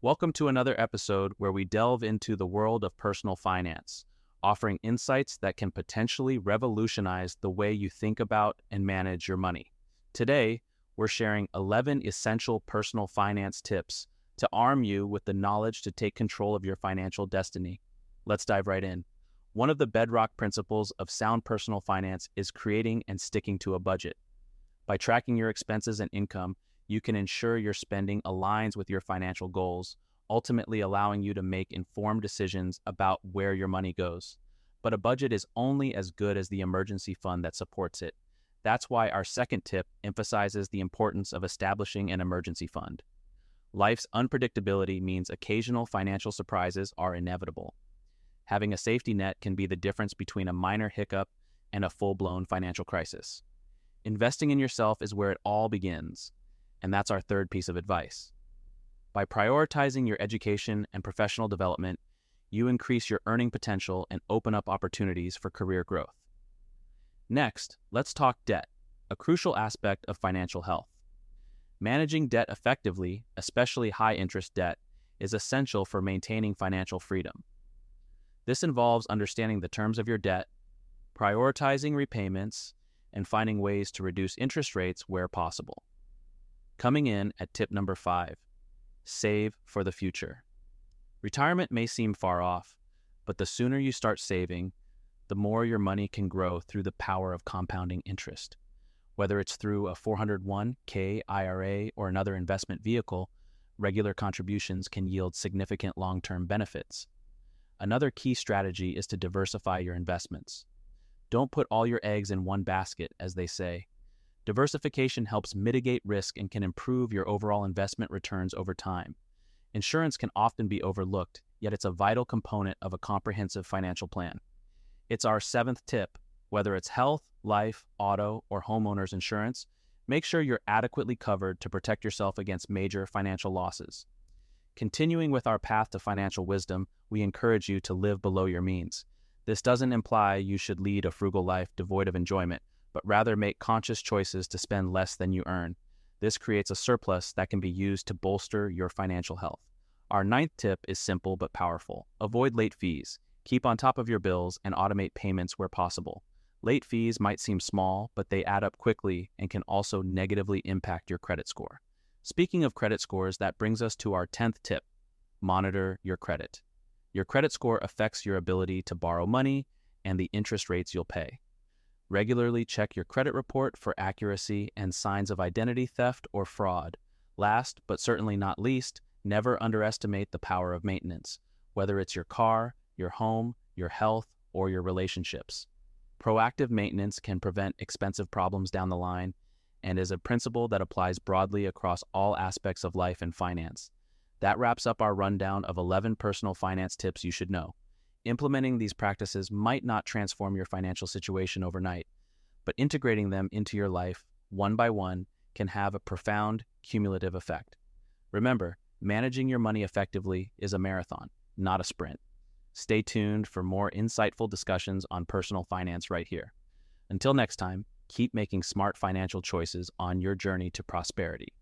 Welcome to another episode where we delve into the world of personal finance, offering insights that can potentially revolutionize the way you think about and manage your money. Today, we're sharing 11 essential personal finance tips to arm you with the knowledge to take control of your financial destiny. Let's dive right in. One of the bedrock principles of sound personal finance is creating and sticking to a budget. By tracking your expenses and income, you can ensure your spending aligns with your financial goals, ultimately allowing you to make informed decisions about where your money goes. But a budget is only as good as the emergency fund that supports it. That's why our second tip emphasizes the importance of establishing an emergency fund. Life's unpredictability means occasional financial surprises are inevitable. Having a safety net can be the difference between a minor hiccup and a full-blown financial crisis. Investing in yourself is where it all begins. And that's our third piece of advice. By prioritizing your education and professional development, you increase your earning potential and open up opportunities for career growth. Next, let's talk debt, a crucial aspect of financial health. Managing debt effectively, especially high-interest debt, is essential for maintaining financial freedom. This involves understanding the terms of your debt, prioritizing repayments, and finding ways to reduce interest rates where possible. Coming in at tip number 5, save for the future. Retirement may seem far off, but the sooner you start saving, the more your money can grow through the power of compounding interest. Whether it's through a 401k, IRA, or another investment vehicle, regular contributions can yield significant long-term benefits. Another key strategy is to diversify your investments. Don't put all your eggs in one basket, as they say. Diversification helps mitigate risk and can improve your overall investment returns over time. Insurance can often be overlooked, yet it's a vital component of a comprehensive financial plan. It's our 7th tip. Whether it's health, life, auto, or homeowners insurance, make sure you're adequately covered to protect yourself against major financial losses. Continuing with our path to financial wisdom, we encourage you to live below your means. This doesn't imply you should lead a frugal life devoid of enjoyment, but rather make conscious choices to spend less than you earn. This creates a surplus that can be used to bolster your financial health. Our 9th tip is simple but powerful. Avoid late fees. Keep on top of your bills and automate payments where possible. Late fees might seem small, but they add up quickly and can also negatively impact your credit score. Speaking of credit scores, that brings us to our 10th tip. Monitor your credit. Your credit score affects your ability to borrow money and the interest rates you'll pay. Regularly check your credit report for accuracy and signs of identity theft or fraud. Last, but certainly not least, never underestimate the power of maintenance, whether it's your car, your home, your health, or your relationships. Proactive maintenance can prevent expensive problems down the line and is a principle that applies broadly across all aspects of life and finance. That wraps up our rundown of 11 personal finance tips you should know. Implementing these practices might not transform your financial situation overnight, but integrating them into your life, one by one, can have a profound cumulative effect. Remember, managing your money effectively is a marathon, not a sprint. Stay tuned for more insightful discussions on personal finance right here. Until next time, keep making smart financial choices on your journey to prosperity.